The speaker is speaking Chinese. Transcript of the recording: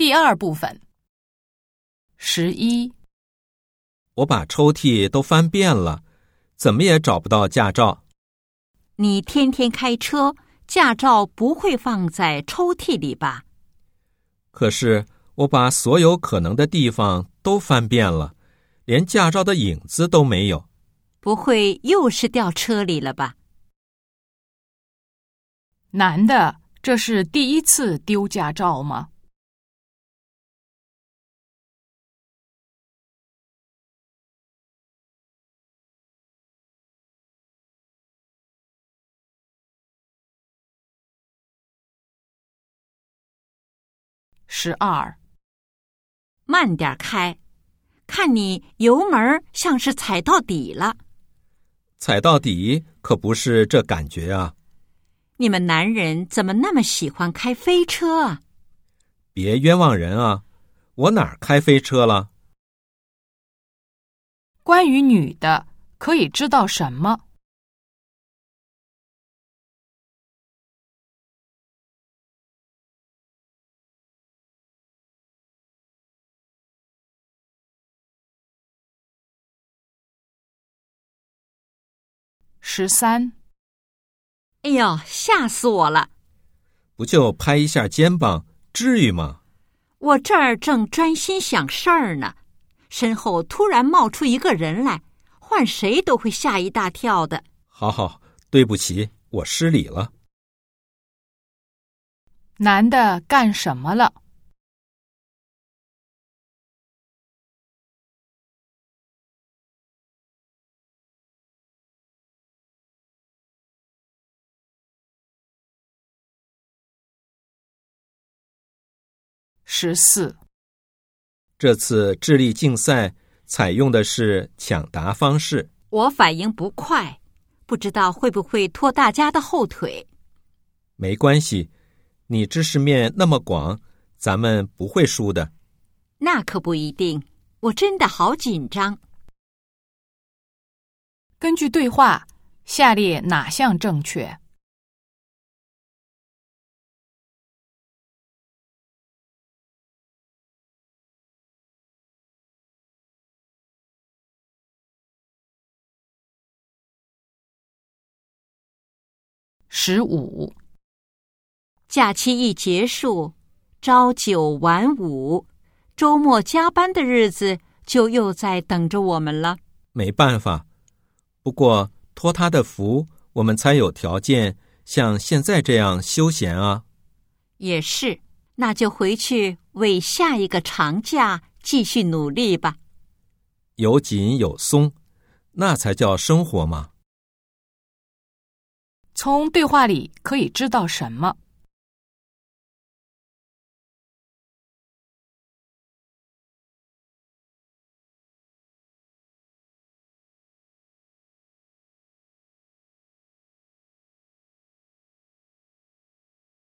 第二部分。11， 我把抽屉都翻遍了，怎么也找不到驾照。 你天天开车，驾照不会放在抽屉里吧？ 可是我把所有可能的地方都翻遍了，连驾照的影子都没有。 不会又是掉车里了吧？ 男的，这是第一次丢驾照吗？12， 慢点开，看你油门像是踩到底了。 踩到底可不是这感觉啊！ 你们男人怎么那么喜欢开飞车啊？ 别冤枉人啊！我哪儿开飞车了？ 关于女的，可以知道什么？13， 哎呦，吓死我了！ 不就拍一下肩膀，至于吗？ 我这儿正专心想事儿呢，身后突然冒出一个人来，换谁都会吓一大跳的。 好，对不起，我失礼了。 男的干什么了？14， 这次智力竞赛采用的是抢答方式。 我反应不快，不知道会不会拖大家的后腿。 没关系，你知识面那么广，咱们不会输的。 那可不一定，我真的好紧张。 根据对话，下列哪项正确？15， 假期一结束，朝九晚五，周末加班的日子就又在等着我们了。 没办法，不过托他的福，我们才有条件像现在这样休闲啊。 也是，那就回去为下一个长假继续努力吧。 有紧有松，那才叫生活嘛。 从对话里可以知道什么